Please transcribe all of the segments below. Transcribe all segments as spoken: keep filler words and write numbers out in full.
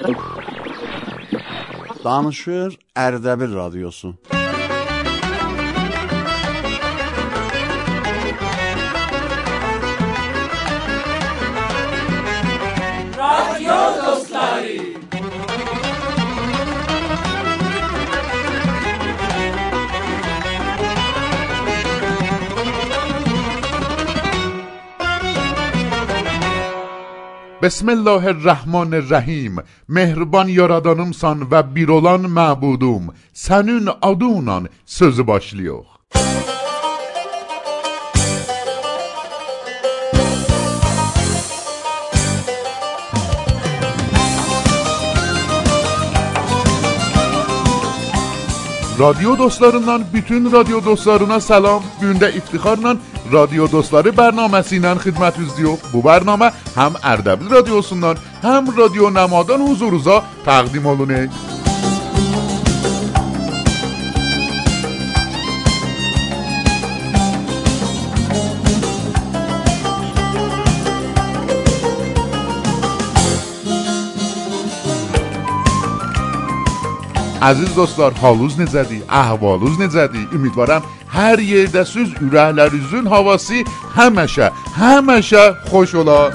Danışır Ərdəbil Radyosu. Radyo dostları. Bismillahirrahmanirrahim. Mehriban yaradanımsan və bir olan məbudum. Sənin adınla sözü başlıyor. Radyo dostlarından bütün radyo dostlarına selam. Gündə iftixarla Radyo Dostları bərnaməsi ilə xidmətinizdə. Bu bərnamə həm Ərdəbil Radyosundan, həm Radyo Nəmadan huzurunuza təqdim olunur. Aziz dostlar, halınız necədir? Əhvalınız necədir? Ümidvaram hər yerdəsiz, ürəklərinizin havası həmişə, həmişə xoş olar.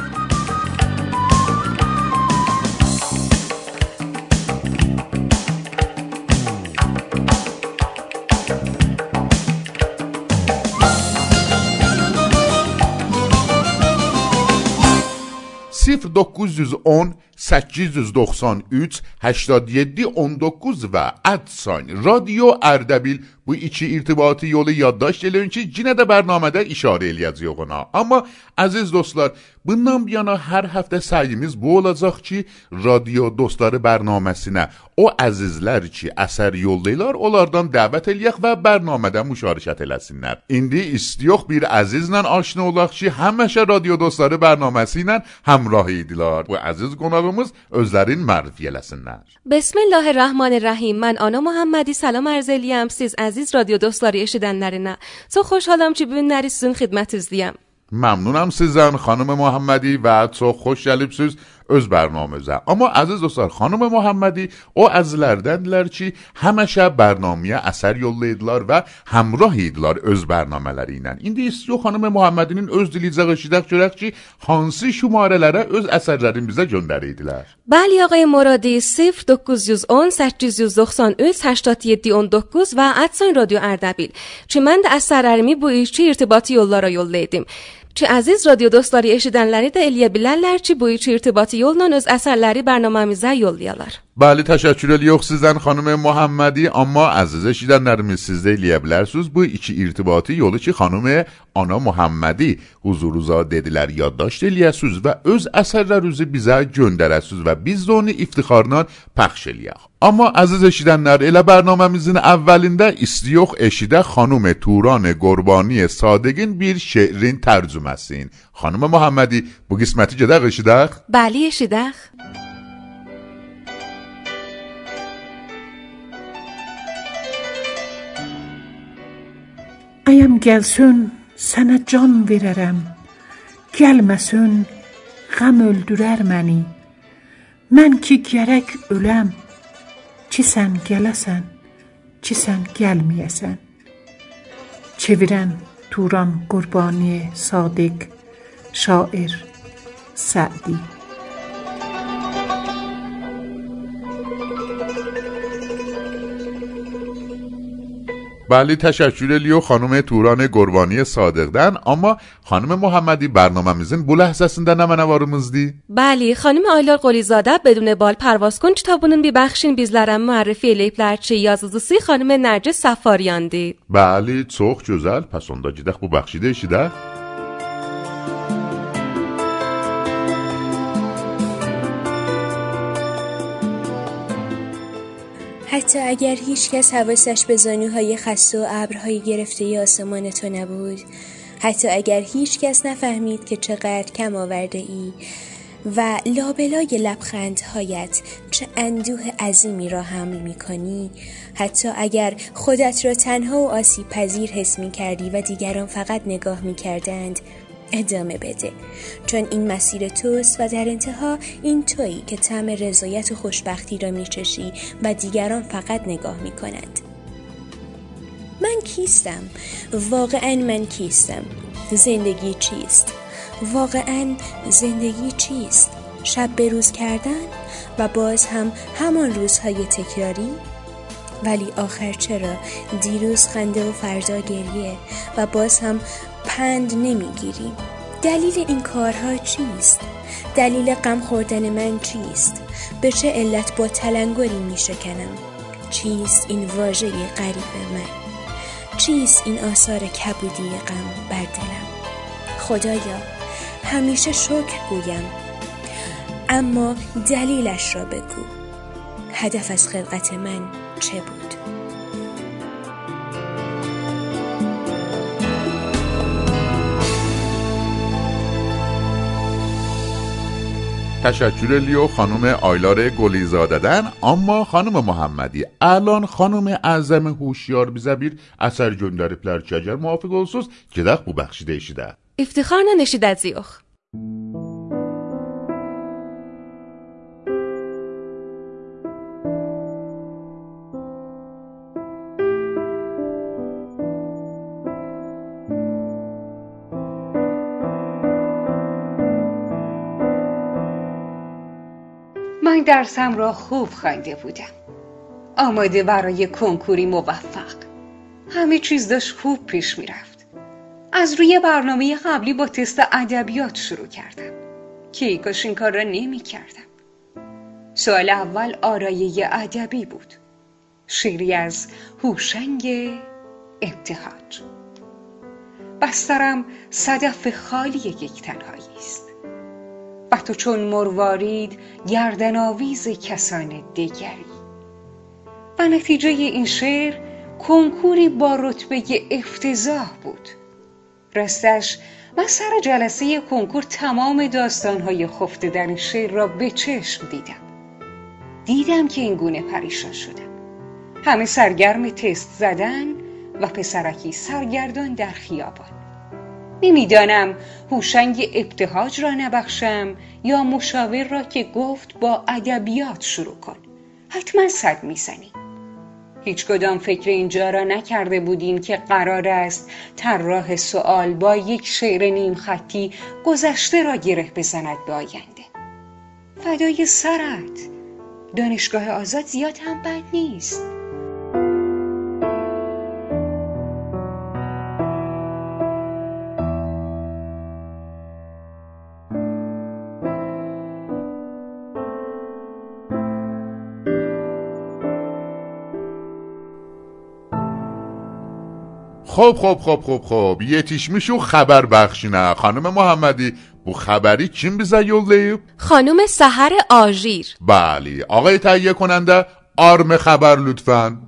صفر dokuz yüz on səkkiz yüz doxsan üç هشتاد و هفت on dokuz və ادساین رادیو Ərdəbil bu iki irtibati yolu yaddaş edin ki, yenə də bərnamədə işarə eləyəcəyik ona. Amma əziz dostlar, bundan bir yana hər həftə səyimiz bu olacaq ki, Radyo Dostları bərnaməsinə o əzizlər ki, əsər yollayırlar, onlardan dəvət eləyək və bərnamədə müşarikət eləsinlər. İndi istiyox bir əzizlə aşina olaq ki, həmişə Radyo Dostları bərnaməsi ilə həmrah idilər. Bu əziz qonağımız özlərin mərifə eləsinlər. Bismillahirrahmanirrahim. Mən Ana Muhammadi salam arz eləyəm siz əziz Radyo Dostları eşidənlərinə. Çox xoşhalam ki, bu günləri sizin xidmətinizdəyəm. ممنونم sizden خانم محمدی و çok خوش gəlibsiz öz bərnaməmizə. Amma əziz dostlar, xanım Muhammadi o əzizlərdəndirlər ki, həmişə bərnaməyə əsər yollayırdılar və həmrah idilər öz bərnamələri ilə. İndi istiyor xanım Muhammedinin öz diliyəcək eşidək görək ki, hansı şumarələrə öz əsərlərini bizə göndərirdilər. Bəli آقای مرادی صفر dokuz yüz on səkkiz yüz doxsan üç هشتاد و هفت on dokuz və ادساین رادیو Ərdəbil. Ki mən də əsərlərimi bu iki irtibati yollara yollaydım. Ki əziz radyo dostları eşidənləri də eləyə bilərlər ki, bu iki irtibati yolla öz əsərləri bərnaməmizə yollayalar. Bəli, təşəkkür edirik sizdən xanım Muhammadi, amma əziz eşidənlərimiz siz də eləyə bilərsiniz bu iki irtibati yolu ki, xanım Ana Muhammadi huzurunuza dedilər yaddaşt eləyəsiniz və öz əsərlərinizi bizə göndərəsiniz və biz də onu iftixarla pəxş eləyək. Amma əziz eşidənlər, elə bərnaməmizin əvvəlində istiyox eşidə xanım Turan Qurbani Sadiqin bir şeirin tərcüməsin. Xanım Muhammadi, bu qisməti gedək eşidək? Bəli, eşidək. Ayam gəlsün, sənə can verərəm. Gəlməsün, qəm öldürər məni. Mən ki gərək öləm. Ki sən gələsən, ki sən gəlməyəsən. Çevirən Turan Qurbani Sadiq, şair Sədi. بله تشکر الیو خانم توران قربانی صادقدن. Amma خانم محمدی برنامemizin bu ləhzəsində nə mənəvarımızdır? Bəli, xanım Aylar Qolizadə بدون bal پرواز کن kitabının bir bəxşini bizlərə müərrifi eləyiblər ki, yazıcısı xanım Nərgiz Səfariyandır. Bəli, çox gözəl. Pəs onda gedək bu bəxşi də eşidək. حتی اگر هیچ کس حواسش به زانوهای خسته و ابرهای گرفته آسمان تو نبود، حتی اگر هیچ کس نفهمید که چقدر کم آورده ای و لابلای لبخندهایت چه اندوه عظیمی را حمل می کنی، حتی اگر خودت را تنها و آسیب پذیر حس می کردی و دیگران فقط نگاه می کردند، ادامه بده، چون این مسیر توست و در انتها این تویی که طعم رضایت و خوشبختی را میچشی و دیگران فقط نگاه میکنند. من کیستم؟ واقعا من کیستم؟ زندگی چیست؟ واقعا زندگی چیست؟ شب به روز کردن و باز هم همان روزهای تکراری؟ ولی آخر چرا دیروز خنده و فردا گریه و باز هم پند نمیگیریم؟ دلیل این کارها چیست؟ دلیل غم خوردن من چیست؟ به چه علت با تلنگری میشکنم؟ چیست این واژه غریب من؟ چیست این آثار کبودی غم بر دلم؟ خدایا همیشه شکر گویم، اما دلیلش را بگو. هدف از خلقت من چه بود؟ تشکر لیو خانم آیلار گلیزاده‌دن. اما خانم محمدی الان خانم اعظم هوشیار بیزبیر اثر göndəriblər ki, əgər muvafiq olsunuz, gedək bu bəxşi deyişidə. İftixarla eşidəcəyik. من درسم را خوب خوانده بودم، آماده برای کنکوری موفق. همه چیز داشت خوب پیش می رفت. از روی برنامه قبلی با تست ادبیات شروع کردم که ای کاش این کار را نمی کردم. سوال اول آرایه ادبی بود، شعری از هوشنگ ابتهاج. بسترم صدف خالی یک تنهایی است و تو چون مروارید گردن آویز کسان دیگری. و نتیجه این شعر کنکوری با رتبه افتضاح بود. راستش من سر جلسه کنکور تمام داستانهای خفته در این شعر را به چشم دیدم. دیدم که این گونه پریشان شدم. همه سرگرم تست زدن و پسرکی سرگردان در خیابان. نمیدانم هوشنگ ابتهاج را نبخشم یا مشاور را که گفت با ادبیات شروع کن، حتما صد میزنی. هیچ کدام فکر اینجا را نکرده بودیم که قرار است طراح سوال با یک شعر نیم خطی گذشته را گره بزند به آینده. فدای سرت، دانشگاه آزاد زیاد هم بد نیست. خب خب خب خب خب yetişmiş xəbər bəxşinə. Xanım محمدی bu xəbəri kim bizə yollayıb؟ خانم سحر آژیر. بله، آقای تهیه کننده آرم خبر لطفاً.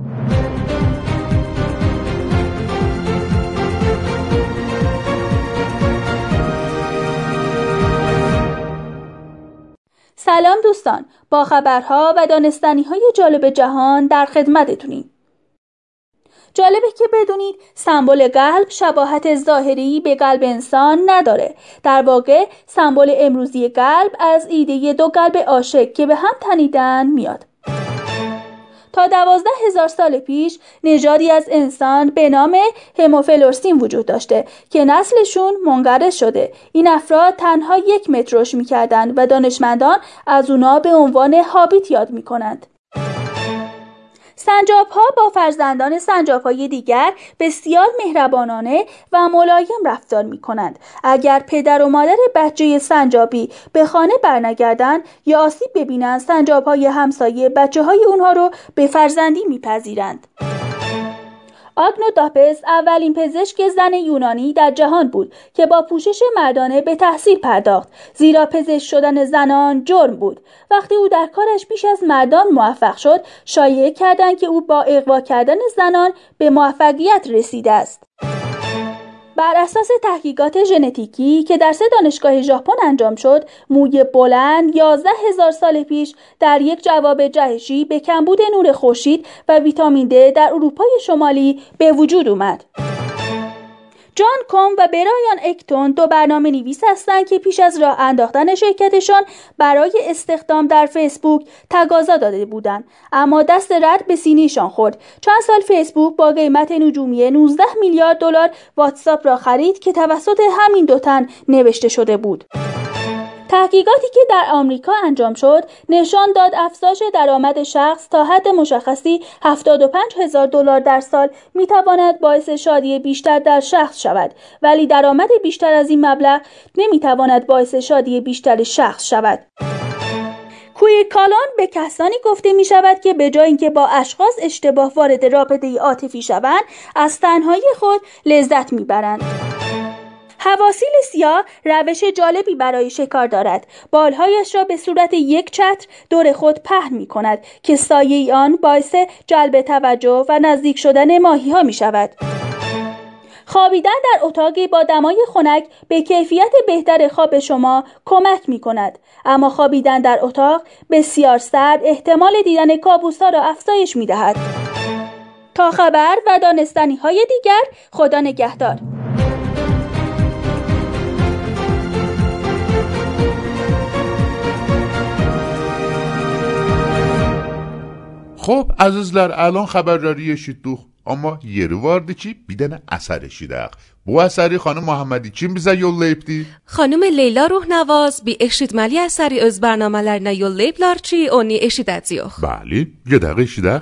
سلام دوستان، با خبرها و دانستنی‌های جالب جهان در خدمتتونیم. جالبه که بدونید سمبل قلب شباهت ظاهری به قلب انسان نداره. در واقع سمبل امروزی قلب از ایده دو قلب عاشق که به هم تنیدن میاد. تا دوازده هزار سال پیش نژادی از انسان به نام هموفلورسین وجود داشته که نسلشون منقرض شده. این افراد تنها یک متر رشد میکردن و دانشمندان از اونا به عنوان هابیت یاد میکنند. سنجاب‌ها با فرزندان سنجاب‌های دیگر بسیار مهربانانه و ملایم رفتار می‌کنند. اگر پدر و مادر بچه سنجابی به خانه برنگردند یا آسیب ببینند، سنجاب‌های همسایه بچه‌های اونها رو به فرزندی می‌پذیرند. آگنوداپس اولین پزشک زن یونانی در جهان بود که با پوشش مردانه به تحصیل پرداخت، زیرا پزشک شدن زنان جرم بود. وقتی او در کارش بیش از مردان موفق شد، شایعه کردند که او با اغوا کردن زنان به موفقیت رسیده است. بر اساس تحقیقات ژنتیکی که در سه دانشگاه ژاپن انجام شد، موی بلند یازده هزار سال پیش در یک جواب جهشی به کمبود نور خورشید و ویتامین د در اروپای شمالی به وجود اومد. جان کوم و برایان اکتون دو برنامه نویس هستند که پیش از راه انداختن شرکتشان برای استخدام در فیسبوک تقاضا داده بودند، اما دست رد به سینه‌شان خورد. چند سال فیسبوک با قیمت نجومی نوزده میلیارد دلار واتساپ را خرید که توسط همین دو تن نوشته شده بود. تحقیقاتی که در آمریکا انجام شد نشان داد افزایش درآمد شخص تا حد مشخصی هفتاد و پنج هزار دلار در سال میتواند باعث شادی بیشتر در شخص شود، ولی درآمد بیشتر از این مبلغ نمیتواند باعث شادی بیشتر شخص شود. کویر کالان به کسانی گفته می شود که به جای اینکه با اشخاص اشتباه وارد رابطه عاطفی شوند، از تنهایی خود لذت می برند. حواسیل سیاه روش جالبی برای شکار دارد. بالهایش را به صورت یک چتر دور خود پهن می کند که سایه آن باعث جلب توجه و نزدیک شدن ماهی ها می شود. خوابیدن در اتاقی با دمای خنک به کیفیت بهتر خواب شما کمک می کند، اما خوابیدن در اتاق بسیار سرد احتمال دیدن کابوس‌ها را افزایش می دهد. تا خبر و دانستنی های دیگر، خدا نگهدار. Xo'p, azizlar, alon xabarlari eshitdik. Amma yeri vardı ki, bir dənə əsər eşidək. Bu əsəri xanım Muhammadi kim bizə yollayıbdı? Xanım Leyla Ruhnavaz bir eşitməli əsəri öz bərnamələrinə yollayıblar ki, onu eşidəcəyik. Bəli, gedək eşidək.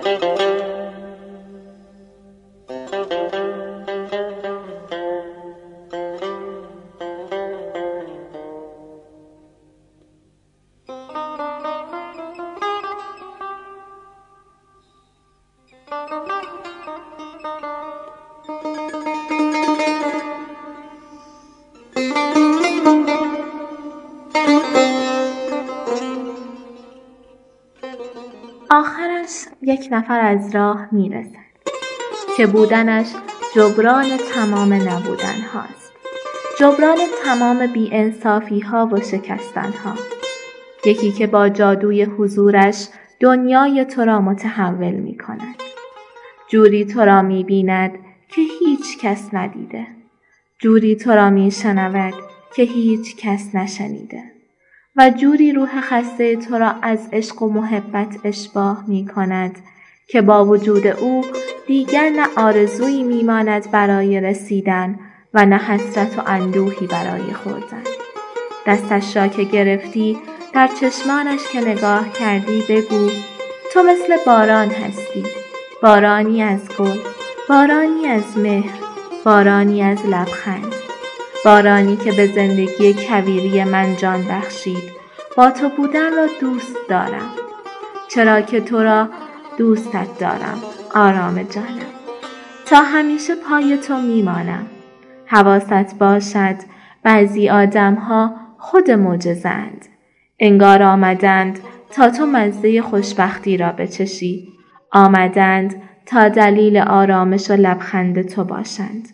آخرش یک نفر از راه میرسد که بودنش جبران تمام نبودن هاست، جبران تمام بی انصافی ها و شکستن ها. یکی که با جادوی حضورش دنیای تو را متحول می کند، جوری تو را می بیند که هیچ کس ندیده، جوری تو را می شنود که هیچ کس نشنیده و جوری روح خسته تو را از عشق و محبت اشباع می کند که با وجود او دیگر نه آرزویی می ماند برای رسیدن و نه حسرت و اندوهی برای خوردن. دستش را که گرفتی، در چشمانش که نگاه کردی، بگو تو مثل باران هستی، بارانی از گل، بارانی از مهر، بارانی از لبخند، بارانی که به زندگی کویری من جان بخشید. با تو بودن را دوست دارم، چرا که تو را دوستت دارم آرام جانم. تا همیشه پای تو میمانم. حواست باشد بعضی آدم ها خود معجزه‌اند، انگار آمدند تا تو مزه خوشبختی را بچشی، آمدند تا دلیل آرامش و لبخند تو باشند.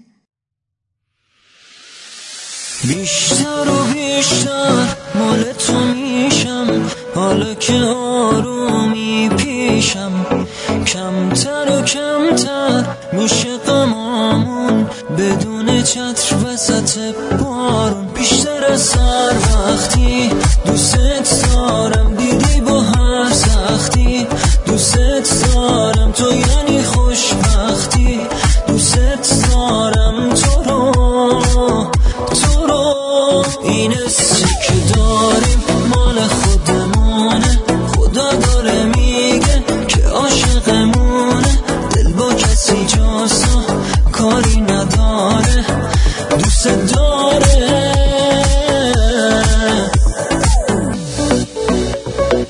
بیشتر و بیشتر مال تو میشم، حالا که آرومی پیشم، کمتر و کمتر میشه غمامون بدون چتر وسط بارون. بیشتر از هر وقتی دوست دارم، دیدی با هر سختی دوست دارم، تو یعنی خوشبختی، دوست دارم تو رو، تو رو. این حسی که داریم مال خودمونه، خدا داره میگه که عاشقمونه، دل با کسی جاسا کاری نداره، دوست داره.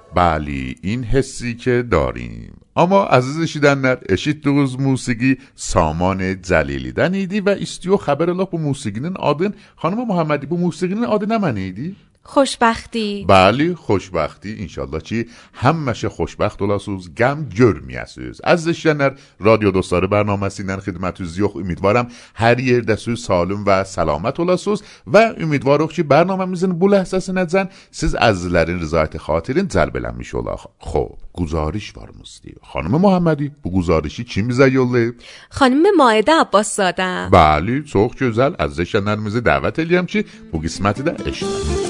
Bəli, این حسی که داریم. Amma əziz eşidənlər, eşitdiyiniz musiqi Saman Cəlilidən idi və istiyor xəbər elə bu musiqinin adın, xanım Muhammedi, bu musiqinin adı nə mənə idi? خوشبختی. بله خوشبختی. انشالله ki həmişə xoşbəxt olasınız, qəm görməyəsiniz. Əziz eşidənlər, radyo dostları bərnaməsindən xidmətinizdə yox, ümidvaram hər yerdəsiniz, salim və salamat olasınız və ümidvarıq ki bərnaməmizin bu ləhzəsinəcən siz əzizlərin rızayəti xatirin cəlb eləmiş olaq. Xoş, guzariş varmızdı. Xanım Muhammedi, bu guzarişi kim bizə yollayıb? Xanım Maidə Abbaszadə. Bəli, çox gözəl. Əziz eşidənlərimizi dəvət edirəm ki bu qisməti də eşidin.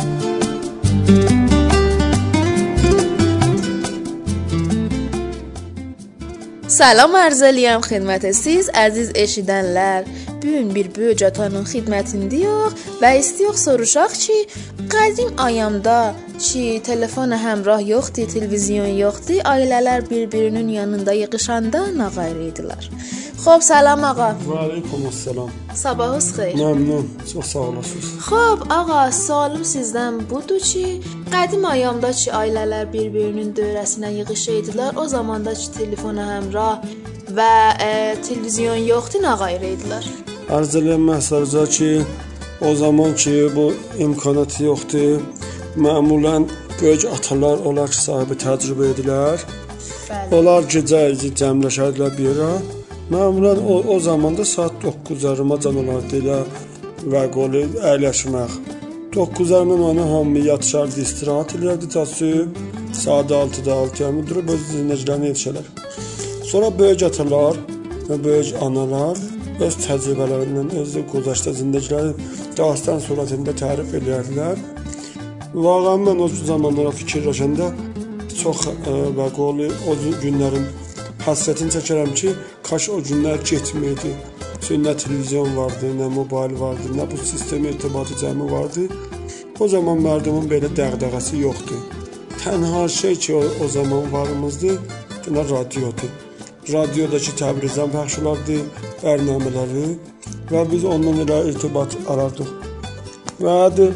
Salam arz eləyəm xidmət siz əziz eşidənlər. Bu gün bir böyük atanın xidmətindəyik və istiyox soruşaq ki, qədim ayamda ki, telefon həmrah yoxdur, televizyon yoxdur, ailələr bir-birinin yanında yığışanda nə qayır idilər. Xoş, salam ağa. Və aleykum assalam. Sabahınız xeyir. Məmnun, çox sağ olasınız. Xoş, ağa, sualım sizdən budur ki, qədim ayamda ki, ailələr bir-birinin dövrəsinə yığışıydilər, o zamanda ki, telefona həmrah və e, televizyon yoxdur, nə qayır idilər? Arz eləyəm məsələcə ki, o zaman ki, bu imkanat yoxdur, məmulən böyük atalar olar ki, sahibi təcrübə edilər. Bəli. Onlar gecə cəmləşədilər bir yerə. Məmulən o, o zamanda saat doqquz yarımacan olardı elə və qolu əyləşmək. doqquz yarımdan onu hamı yatışardı, istirahat edirdi, ta süb saat altıda altıya durub öz zindəclərini yetişələr. Sonra böyük atalar və böyük analar öz təcrübələrindən, öz qozaşda zindəcləri dastan surətində tərif edərdilər. Vaqəən mən o zamanlara fikirləşəndə çox ə, və qolu o günlərin həsrətini çəkərəm ki, kaş o günlər getməydi. Çünki nə televizyon vardı, nə mobil vardı, nə bu sistem irtibatı cəmi vardı. O zaman mərdumun belə dəğdəğəsi yoxdur. Tənha şey ki, o, o zaman varımızdı, nə radiodur. Radiodakı Təbrizdən pəxş olardı, bərnamələri və biz ondan elə irtibat arardıq. Və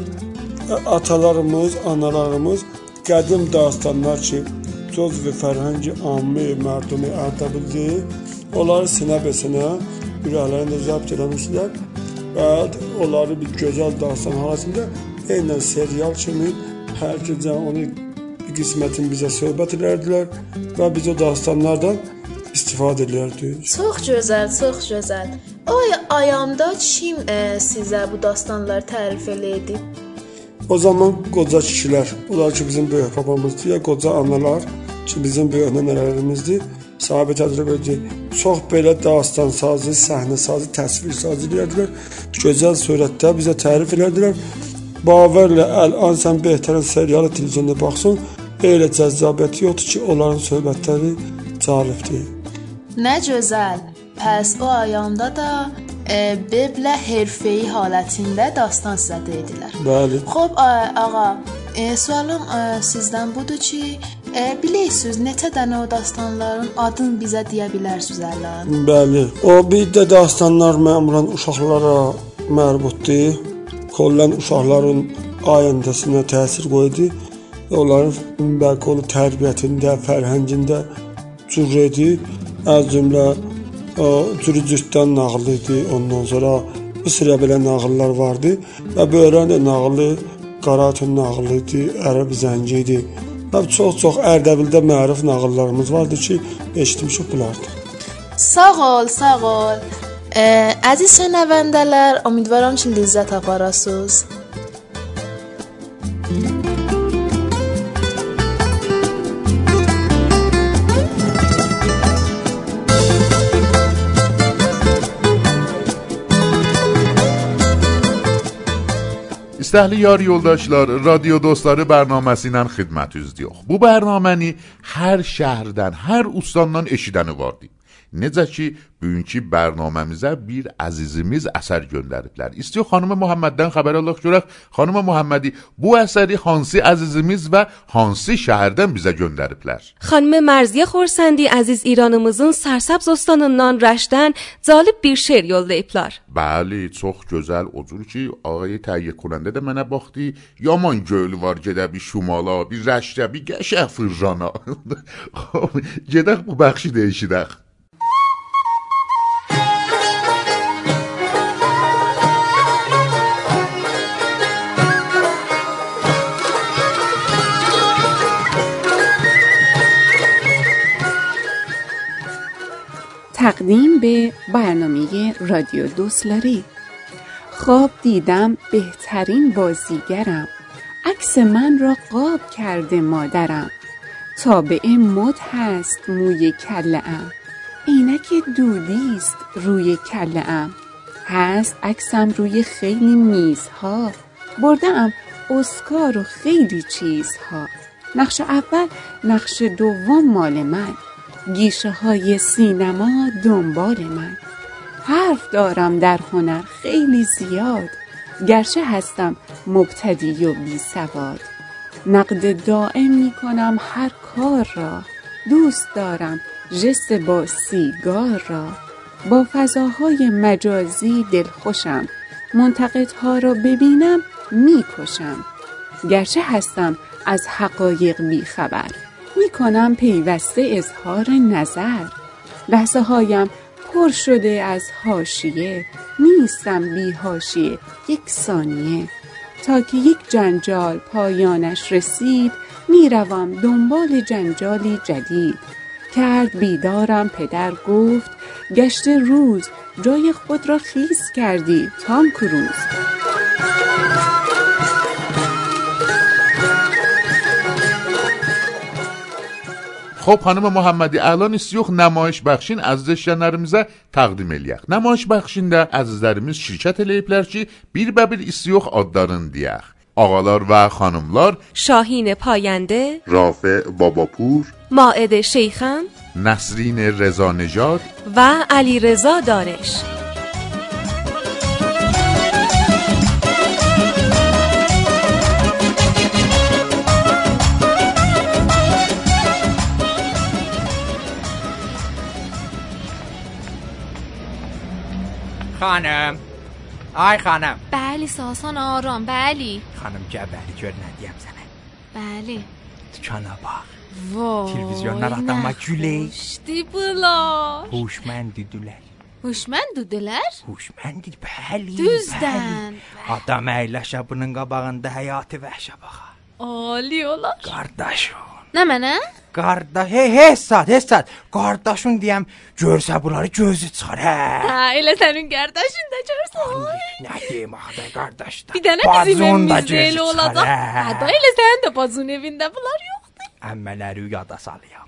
atalarımız, analarımız qədim dastanlar ki, söz və fərhəngi ammi mərdumi Ərdəbildi, onları sinə-besinə ürəklərində zəbt eləmişlər və onları bir gözəl dastan haləsində eynən serial kimi hər gecə onu bir qismətin bizə söhbət edərdilər və biz o dastanlardan istifadə edərdik. Çox gözəl, çox gözəl. O ayamda kim e, sizə bu dastanları tərif eləyirdi? O zaman qoca kişilər, onlar ki bizim böyük babamızdır, ya qoca analar ki bizim böyük nənələrimizdir, sahibi təcrübə edir. Çox belə dastan sazı, səhnə sazı, təsvir sazı edərdilər. Gözəl surətdə bizə tərif edərdilər. Baverlə əl-an sən behtərin serialı televizyonda baxsın, elə cəzzabiyyəti yoxdur ki, onların söhbətləri cəlibdir. Nə gözəl. Pəs o ayanda da e, beblə herfeyi halətində dastan sizə dedilər. Bəli. Xoş, ağa, e, sualım e, sizdən budur ki, e, bilirsiniz neçə dənə o dastanların adını bizə deyə bilərsiniz ələn? Bəli. O bir də dastanlar məmulən uşaqlara mərbutdur. Kollən uşaqların ayəndəsinə təsir qoydu. Onların bəlkə onu tərbiyyətində, fərhəngində cürredi. Az cümlə cürücürtdən nağıl idi. Ondan sonra bir sıra belə nağıllar vardı. Və böyrən də nağılı, Qaratın nağılı idi, Ərəb zəngi idi. Və çox-çox Ərdəbildə məruf nağıllarımız vardı ki, eşitmişik bunlardı. Sağ ol, sağ ol. Ee, əziz şənəvəndələr, ümidvaram ki, ləzzət aparasınız. İstəhli yar yoldaşlar, radyo dostları bərnaməsi ilə xidmətinizdə yox. Bu bərnaməni hər şəhərdən, hər ustandan eşidəni vardı. Necə ki, bugünkü bərnaməmizə bir əzizimiz əsər göndəriblər. İstiyor xanım Muhammeddən xəbər alaq görək. Xanım Muhammedi, bu əsəri hansı əzizimiz və hansı şəhərdən bizə göndəriblər? Xanım Mərziyə Xorsendi əziz İranımızın Sərsəbz ostanından Rəşdən cəlib bir şeir yollayıblar. Bəli, çox gözəl. O cür ki, ağayı təhiyyə kunəndə də mənə baxdı. Yaman gölü var, gedə bir şumala, bir Rəşdə, bir qəşəng fırjana. Gedək bu bəxşi deyişidək. تقدیم به برنامه رادیو دوستلاری. خواب دیدم بهترین بازیگرم، عکس من را قاب کرده مادرم، تابع مد هست موی کله‌ام، عینک دودیست روی کله‌ام، هست عکسم روی خیلی میزها، بردم اسکار و خیلی چیزها، نقش اول نقش دوم مال من، گیشه های سینما دنبال من، حرف دارم در هنر خیلی زیاد، گرچه هستم مبتدی و بی سواد، نقد دائم می کنم هر کار را، دوست دارم ژست با سیگار را، با فضاهای مجازی دلخوشم، منتقدها را ببینم می کشم، گرچه هستم از حقایق بی خبر، می کنم پیوسته اظهار نظر، لحظه هایم پر شده از حاشیه، نیستم بی حاشیه یک ثانیه، تا که یک جنجال پایانش رسید، می روم دنبال جنجالی جدید، کرد بیدارم پدر گفت، گشت روز جای خود را خیس کردی تام کروز. خب xanım Muhammedi, əlan istiyox namayiş bəxşin əziz işlənlərimizə təqdim eləyək. Namayiş bəxşində əzizlərimiz şirkət eləyiblər ki, bir-bir istiyox adlarını deyək. Ağalar və xanımlar: Şahin Payenده, Rafe Babapur, Maide Şeyxan, Nəsrin Rezanejad və Ali Reza Daniş. خانم، آی خانم. بله ساسان آرام. بله خانم جبری جور ندیم زنه. بله دکانا باق. وای تلویزیون نرفتم ما گوله. نخشتی بلا هوشمندی دولر. هوشمند دولر؟ هوشمندی بله. Düzdən. Adam əyləşə bunun qabağında həyatı vəhşə baxa. Ali olar. Qardaşım. Nə mənə? Qardaş, hey, hesad, hesad. Qardaşın deyəm, görsə bunları gözü çıxar, hə. Hə, elə sənin qardaşın da görsən. Nə deyim axı, qardaş da. Bir dənə bizim evimizdə elə olacaq. Hə, da elə sənin də bazın evində bunlar yoxdur. Əmmələri yada salayam.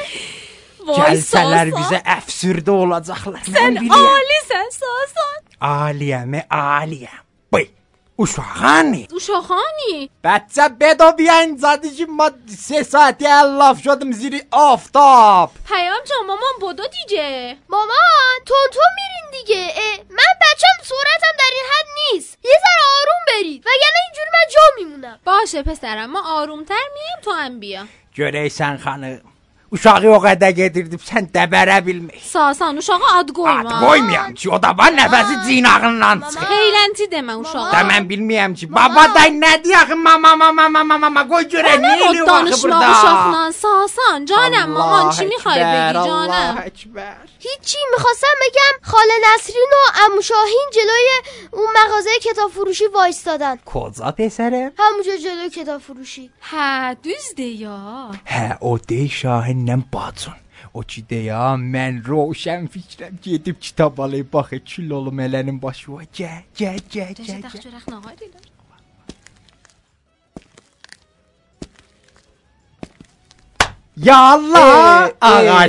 Gəlsələr bizə əfsürdə olacaqlar. Sən alisən, Sasan. Aliyəmi, aliyəm. Bıy. uşağانی uşağانی بچه بدا بیا اینجا دیگه ما سه ساعتی الاف شدم زیر آفتاب پیام جان مامان بودو دیگه مامان تون تون میرین دیگه من بچم صورتم در این حد نیست یه ذره آروم برید وگرنه اینجوری من جا میمونم باشه پسرم ما آرومتر مییم تو هم بیا göreysen xanım uşağı o qədər gedirdim sən dəbərə bilmək Sasan uşağa ad qoyma Ad qoymayam ki o da var nəfəsi cinağından çıxır Xeylənti demə uşağa Da mən bilməyəm ki baba day nə deyək mama mama mama mama qoy görək nə eləyir o axı burada danışma uşaqla Sasan canım maman چی میخوای بگی جانم الله اکبر هیچی میخواستم بگم خاله نسرین و عمو شاهین جلوی اون مغازه کتاب فروشی وایستادن کجا پسرم همونجا جلوی کتاب فروشی hə düzdür ya hə o dey Şahinlə bacın o ki deyə mən roşan fikrəm gedib kitab alayım baxı kül olum elənin başı va gəl gəl gəl gəl Ya Allah, Ağa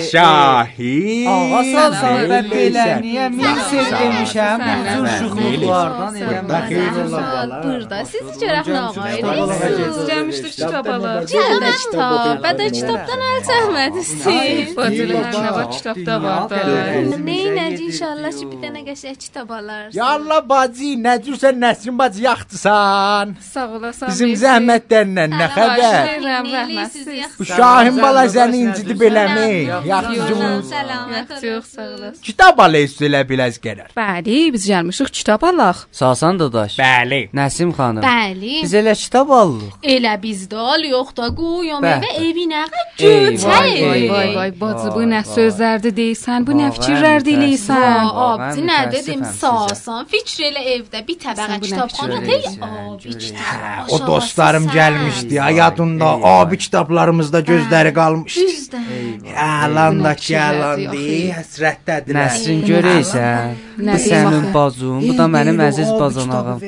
Şahin. Ağa Sazan, ben belə niyə milser demişəm? Huzur şuxluqlardan Burada xeyir ola bala. Burada siz çörək nağayırsınız. Cəmişdir kitabalar. Cəmdə kitab, bədə kitabdan əl çəkmədiniz. Fadilə nə var kitabda var da. Neynəcə inşallah ki bir dənə qəşəng kitab alarsın. Ya Allah bacı, nə cürsən Nəsrin bacı yaxtısan? Sağ olasın. Bizim zəhmətlərlə nə xəbər? Rəhmətsiz. Bu Şahin bala səni incidib eləmi? Yaxtıcımız. Yaxşı, yox, sağ olasın. Kitab alayız elə biləz gələr. Bəli, biz gəlmişik kitab alaq. Sasan dadaş. Bəli. Nəsim xanım. Bəli. Biz elə kitab alırıq. Elə bizdə al yox da qoyum Bəh. evə evinə Ey, götür. vay, Vay vay vay bacı bu nə sözlərdir deyirsən, bu nə fikirlər deyirsən. Abdi nə dedim Sasan fikir elə evdə bir təbəqə kitabxana deyil abi kitab. O dostlarım gəlmişdi ya yadında. Abi kitablarımızda gözləri qalmışdı. Düzdür. Yalan da yalandı, həsrətdədir. Nəsrin görəysən, bu sənin bacın, bu da mənim əziz bacanağım.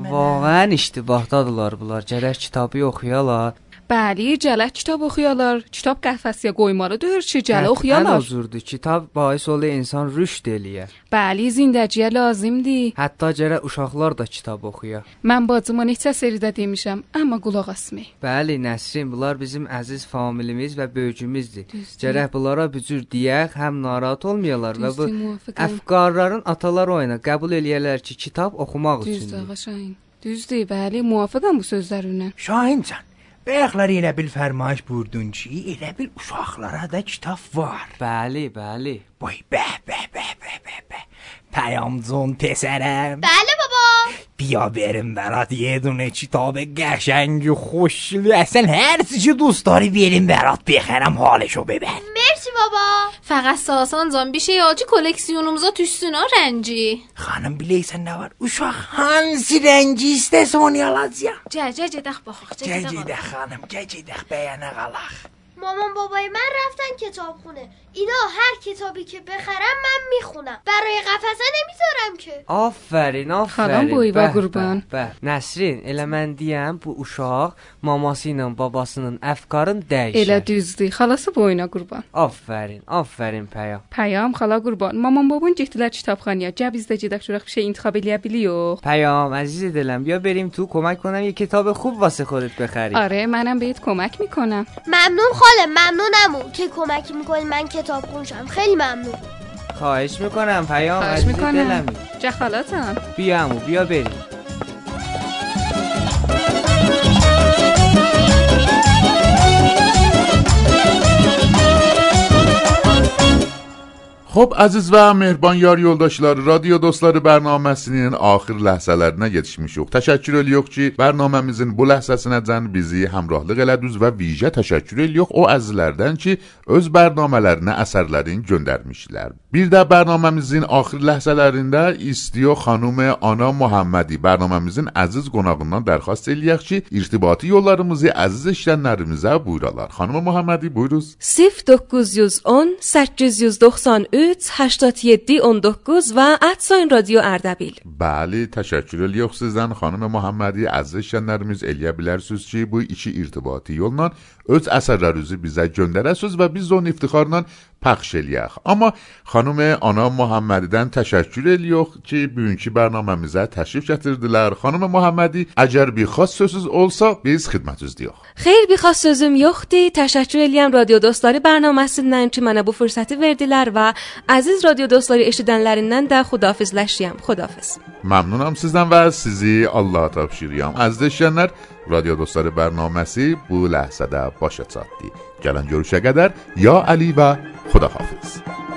Vağən iştibahdadılar bunlar, gərək kitabı oxuyalar. Bəli, gələk kitab oxuyalar. Kitab qəhvəsiyə qoymalıdır ki, gələ oxuyalar. Ən huzurdur, kitab bahis olur insan rüşd eləyər. Bəli, zindəciyə lazımdır. Hətta gərək uşaqlar da kitab oxuya. Mən bacıma neçə seridə demişəm, amma qulaq asmay. Bəli, Nəsrin, bunlar bizim əziz familimiz və böyücümüzdür. Gərək bunlara bir cür deyək, həm narahat olmayalar və bu əfqarların atalar oyuna qəbul eləyərlər ki, kitab oxumaq üçündür. Düzdür, ağa Şahin. Düzdür, bəli, muvafiqəm bu sözlərinə. Şahincan, bayaqlar elə bil fərmayış buyurdun ki, elə bil uşaqlara da kitab var. Bəli, bəli. Vay, bəh, bəh, bəh, bəh, bəh, bəh. Pəyamcun tesərəm. Bəli baba. بیا بریم برات یه دونه کتاب قشنگ و خوشگلی اصلا هر چی دوست داری بریم برات بخرم حالشو ببر. Mersi baba. Fəqət Sasan can bir şey al ki koleksiyonumuza düşsün ha rəngi. Xanım bilirsən nə var? Uşaq hansı rəngi istəsə onu alacağam. Gəl, gəl gedək baxaq. Gəl gedək xanım, gəl gedək bəyənə qalaq. مامان بابای من رفتن کتابخونه. اینا هر کتابی که بخرم من میخونم. برای قفسه نمیذارم که. Aferin, aferin. Xalam boyva qurban. Bəh, Nəsrin, elə mən deyəm bu uşaq maması ilə babasının əfqarını dəyişər. Elə düzdür. Xalası boyuna qurban. Aferin, aferin Pəyam. Pəyam, xala qurban. Mamam babam getdilər kitabxanaya. Gəl biz də gedək görək bir şey intikhab eləyə biliyox. Pəyam, əziz دلم بیا بریم تو کمک کنم یه کتاب خوب واسه خودت بخری. آره منم بهت کمک میکنم. ممنون خاله، ممنونم که کمکی میکنی من کتاب خونشم. خیلی ممنون. خواهش میکنم پیام، خواهش عزیز میکنم. دلمی. چه خالاتم؟ بیا عمو بیا بریم. Xo'p, aziz və mehriban yar yoldaşları, radio dostları bərnaməsinin axır ləhzələrinə yetişmişik. Təşəkkür edirik ki, bərnaməmizin bu ləhzəsinəcən bizi həmrahlıq elədiniz və vicə təşəkkür edirik o əzizlərdən ki, öz bərnamələrinə əsərlərini göndərmişlər. Bir də bərnaməmizin axır ləhzələrində İstiyo xanım Ana Muhammadi bərnaməmizin əziz qonağından dərxast eləyək ki, irtibati yollarımızı əziz işlənlərimizə buyuralar. Xanım Muhammadi buyuruz. صفر dokuz on səkkiz doxsan üç هشتاد و هفت on dokuz və @soin radio Ardabil. Bəli, təşəkkür edirik sizdən xanım Muhammadi. Əziz işlənlərimiz eləyə bilərsiniz ki, bu iki irtibati yolla öz əsərlərinizi bizə göndərəsiniz və biz onu iftixarla pəxş eləyək. Amma xanım Ana Muhammadidən təşəkkür edirik ki, bugünkü bərnaməmizə təşrif gətirdilər. Xanım Muhammadi, əgər bir xas sözünüz olsa, biz xidmətinizdəyik. Xeyr, bir xas sözüm yoxdur. Təşəkkür edirəm radio dostları bərnaməsindən ki, mənə bu fürsəti verdilər və əziz radio dostları eşidənlərindən də xudafizləşirəm. Xudafiz. Məmnunam sizdən və sizi Allaha tapşırıram. Əziz eşidənlər, radio dostları bərnaməsi bu ləhzədə başa çatdı. Gələn görüşə qədər ya Əli və Xudahafiz.